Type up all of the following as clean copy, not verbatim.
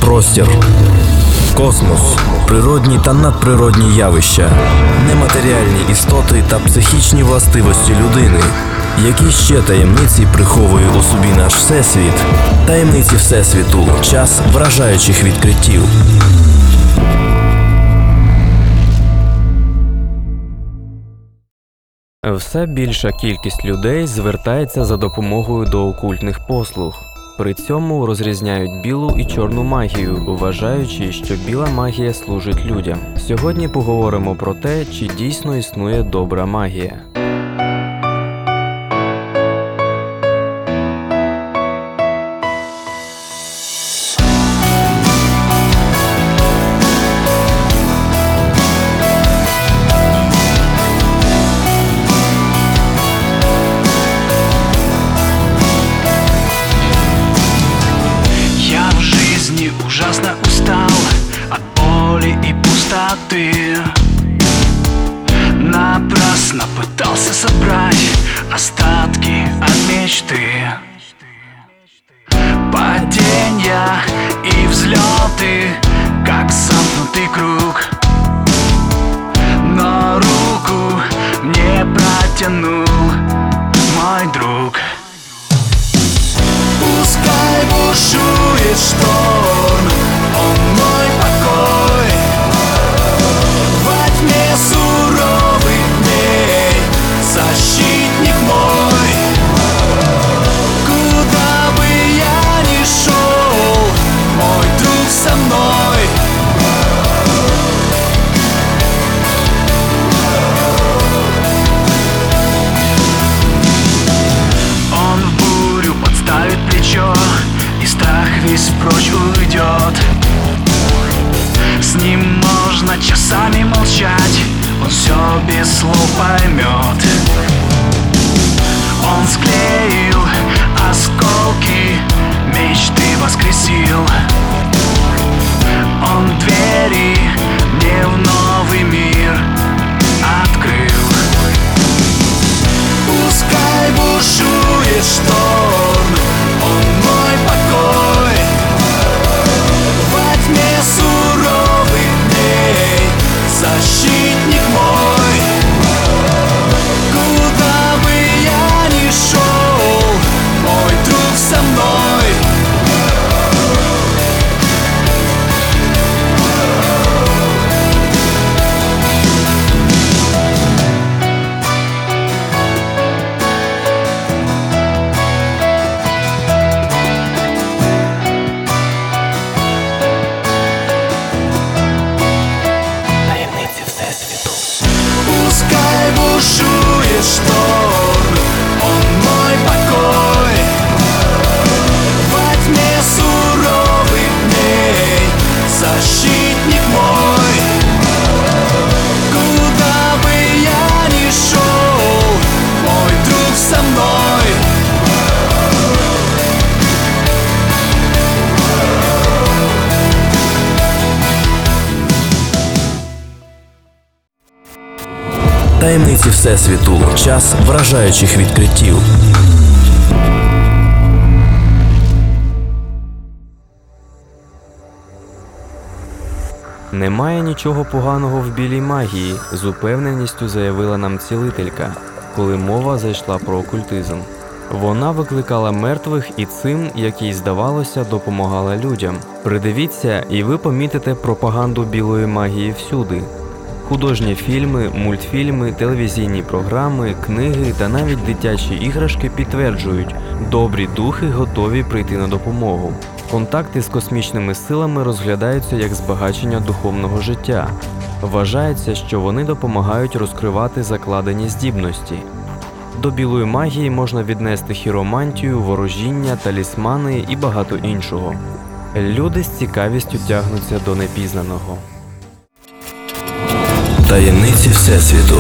простір, космос, природні та надприродні явища, нематеріальні істоти та психічні властивості людини. Які ще таємниці приховує у собі наш Всесвіт? Таємниці Всесвіту. Час вражаючих відкриттів. Все більша кількість людей звертається за допомогою до окультних послуг. При цьому розрізняють білу і чорну магію, вважаючи, що біла магія служить людям. Сьогодні поговоримо про те, чи дійсно існує добра магія. Ужасно устал от боли и пустоты. Напрасно пытался собрать остатки от мечты. Падения и взлеты, как замкнутый круг. Но руку мне протянул мой друг. Пускай бушует шторм, он мой покой. Во тьме суровых дней защитник мой. Куда бы я ни шел, мой друг со мной. Он в бурю подставит плечо, и страх весь прочь уйдет. С ним можно часами молчать, он все без слов поймет. Он склеил осколки, мечты воскресил. Он двери мне в новый мир открыл. Пускай бушует шторм, он мой покой. Во тьме суровых дней защитник мой. Куда бы я ни шел, мой друг со мной. Пускай бушует шторм, он мой покой. Во тьме суровых дней защитник мой. Куда бы я ни шел, мой друг со мной. Таємниці Всесвіту. Час вражаючих відкриттів. Немає нічого поганого в білій магії, з упевненістю заявила нам цілителька, коли мова зайшла про окультизм. Вона викликала мертвих і цим, як їй здавалося, допомагала людям. Придивіться, і ви помітите пропаганду білої магії всюди. Художні фільми, мультфільми, телевізійні програми, книги та навіть дитячі іграшки підтверджують, добрі духи готові прийти на допомогу. Контакти з космічними силами розглядаються як збагачення духовного життя. Вважається, що вони допомагають розкривати закладені здібності. До білої магії можна віднести хіромантію, ворожіння, талісмани і багато іншого. Люди з цікавістю тягнуться до непізнаного. Таємниці Всесвіту.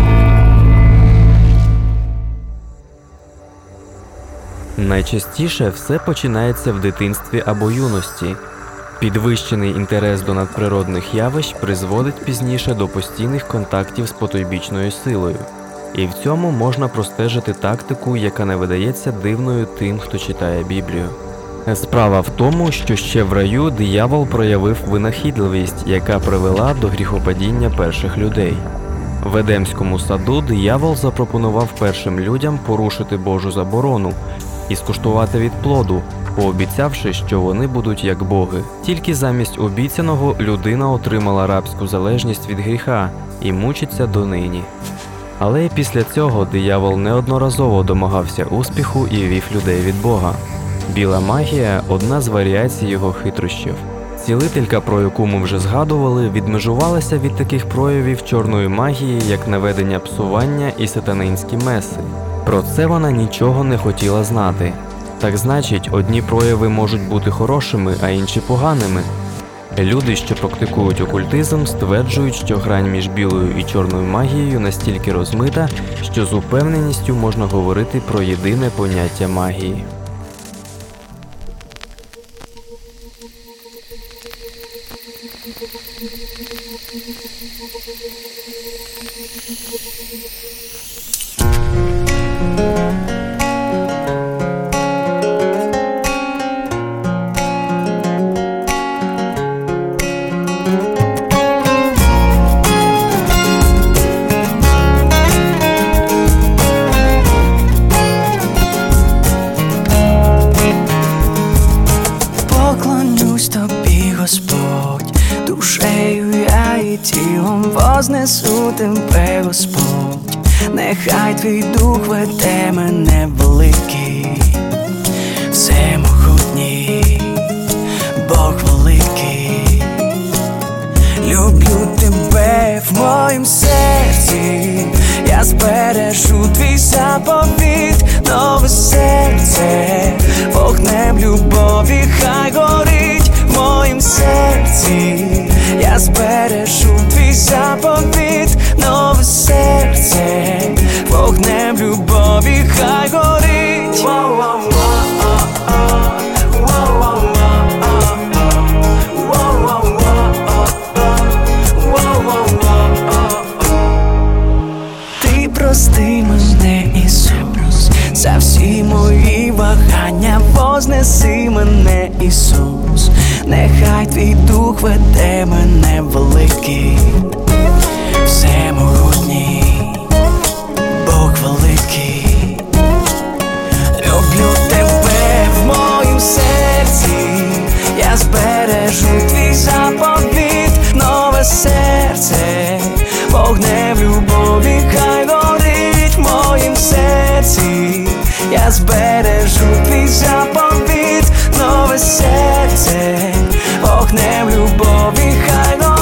Найчастіше все починається в дитинстві або юності. Підвищений інтерес до надприродних явищ призводить пізніше до постійних контактів з потойбічною силою. І в цьому можна простежити тактику, яка не видається дивною тим, хто читає Біблію. Справа в тому, що ще в раю диявол проявив винахідливість, яка привела до гріхопадіння перших людей. В Едемському саду диявол запропонував першим людям порушити Божу заборону і скуштувати від плоду, пообіцявши, що вони будуть як боги. Тільки замість обіцяного людина отримала рабську залежність від гріха і мучиться донині. Але після цього диявол неодноразово домагався успіху і вів людей від Бога. Біла магія – одна з варіацій його хитрощів. Цілителька, про яку ми вже згадували, відмежувалася від таких проявів чорної магії, як наведення псування і сатанинські меси. Про це вона нічого не хотіла знати. Так значить, одні прояви можуть бути хорошими, а інші поганими. Люди, що практикують окультизм, стверджують, що грань між білою і чорною магією настільки розмита, що з упевненістю можна говорити про єдине поняття магії. Поклонюсь тобі, Господь, душею я і тілом вознесу тебе, Господь. Нехай твій дух веде мене великий, всемогутній, Бог великий. Люблю тебе в моїм серці, я збережу твій заповіт, нове серце, вогнем любові хай горить в моїм серці, я збережу твій заповіт, нове серце, вогнем любові хай горить. Ти прости мене, Ісус, за всі мої вагання, вознеси мене, Ісус, нехай твій дух веде мене великий, всемогутній, Бог великий. Люблю тебе в моїм серці, я збережу твій заповіт, нове серце, вогнем любові хай горить в моїм серці, я збережу твій заповіт, нове серце, вогнем любові хай горить.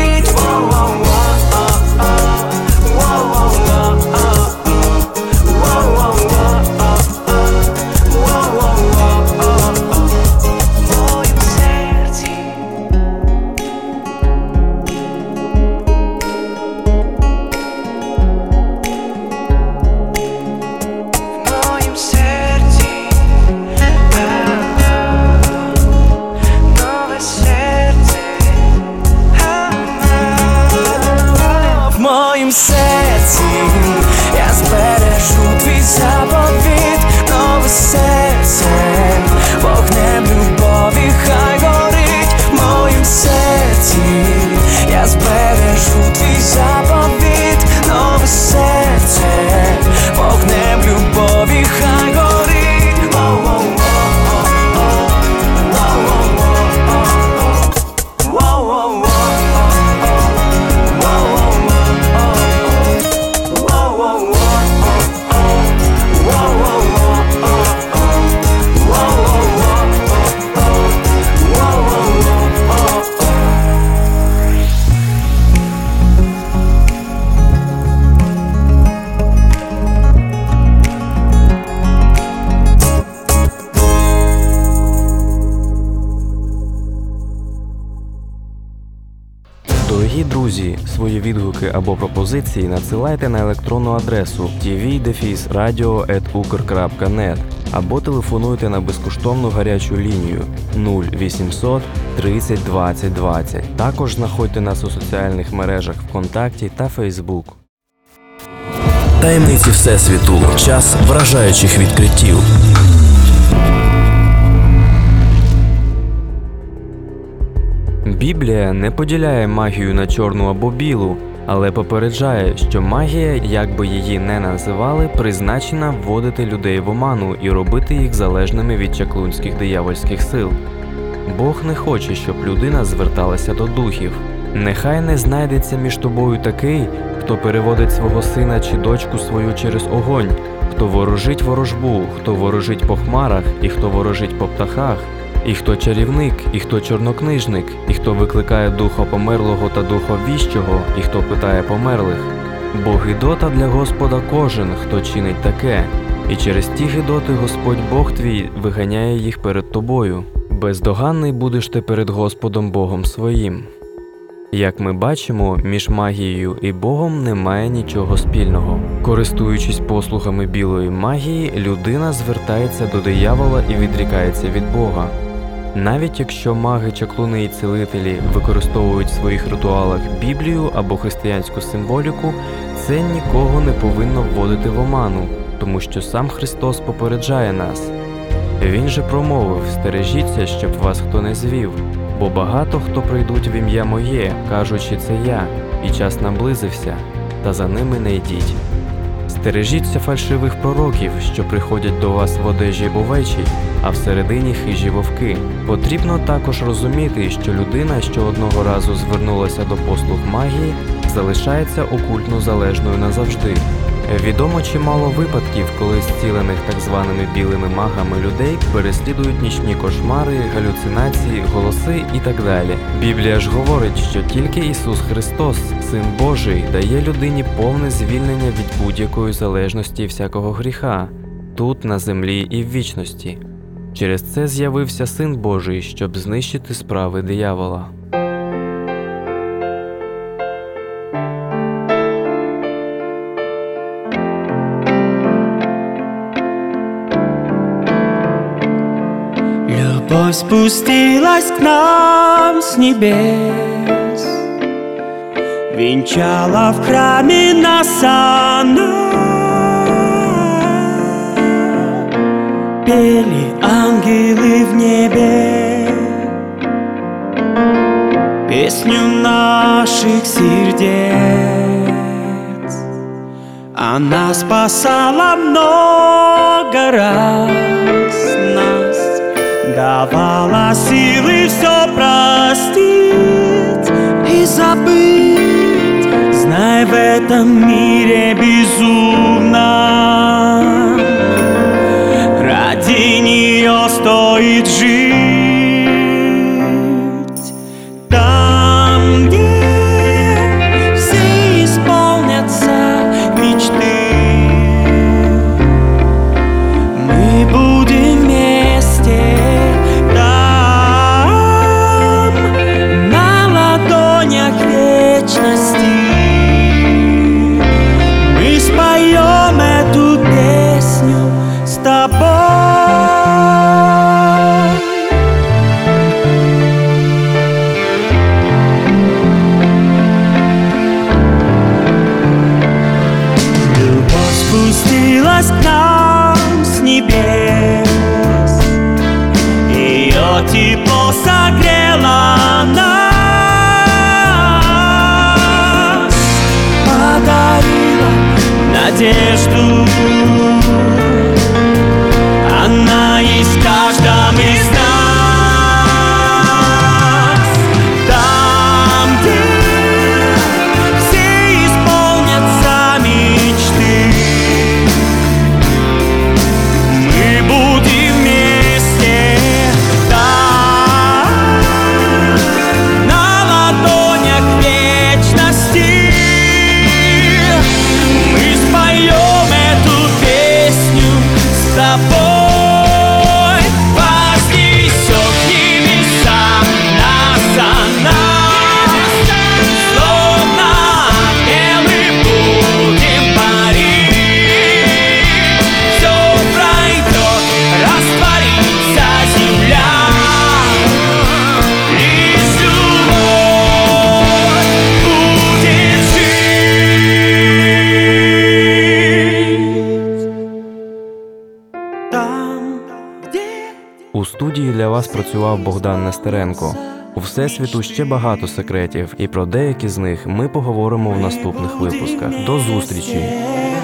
В моїм серці я збережу твій заповіт, нове серце, вогнем любові хай горить в моїм серці, я збережу твій заповіт, нове серце, вогнем любові хай горить. Дорогі друзі, свої відгуки або пропозиції надсилайте на електронну адресу tv-radio@ukr.net або телефонуйте на безкоштовну гарячу лінію 0800 30 20 20. Також знаходьте нас у соціальних мережах ВКонтакті та Фейсбук. Таємниці Всесвіту. Час вражаючих відкриттів. Біблія не поділяє магію на чорну або білу, але попереджає, що магія, як би її не називали, призначена вводити людей в оману і робити їх залежними від чаклунських диявольських сил. Бог не хоче, щоб людина зверталася до духів. Нехай не знайдеться між тобою такий, хто переводить свого сина чи дочку свою через огонь, хто ворожить ворожбу, хто ворожить по хмарах, і хто ворожить по птахах, і хто чарівник, і хто чорнокнижник, і хто викликає духа померлого та духа віщого, і хто питає померлих. Бо гидота для Господа кожен, хто чинить таке, і через ті гидоти Господь Бог твій виганяє їх перед тобою. Бездоганний будеш ти перед Господом Богом своїм. Як ми бачимо, між магією і Богом немає нічого спільного. Користуючись послугами білої магії, людина звертається до диявола і відрікається від Бога. Навіть якщо маги, чаклуни і цілителі використовують в своїх ритуалах Біблію або християнську символіку, це нікого не повинно вводити в оману, тому що сам Христос попереджає нас. Він же промовив: «Стережіться, щоб вас хто не звів, бо багато хто прийдуть в ім'я моє, кажучи, це я, і час наблизився, та за ними не йдіть». Стережіться фальшивих пророків, що приходять до вас в одежі овечій, а всередині хижі вовки. Потрібно також розуміти, що людина, що одного разу звернулася до послуг магії, залишається окультно залежною назавжди. Відомо чимало випадків, коли зцілених так званими білими магами людей переслідують нічні кошмари, галюцинації, голоси і так далі. Біблія ж говорить, що тільки Ісус Христос, Син Божий, дає людині повне звільнення від будь-якої залежності і всякого гріха, тут, на землі і в вічності. Через це з'явився Син Божий, щоб знищити справи диявола. Любовь спустилась к нам с небес, венчала в храме нас она. Пели ангелы в небе песню наших сердец. Она спасала много раз нас, давала силы все простить и забыть. Знай, в этом мире безумно ради нее стоит жить. Там, где все исполнятся мечты, мы будем вместе. Там, на ладонях вечности, мы споем эту песню с тобой. Любовь спустилась к нам с небес, ее тепло согрело нас, подарила надежду. Она есть в каждом из нас. Там, где все исполнятся мечты, мы будем вместе. Там, на ладонях вечности, мы споем эту песню с тобой. Вознесем к небесам нас, словно ангелы будем парить. Все пройдет, растворится земля, лишь любовь будет жить. Там, где У студії для вас працював Богдан Нестеренко. У Всесвіту ще багато секретів, і про деякі з них ми поговоримо в наступних випусках. До зустрічі!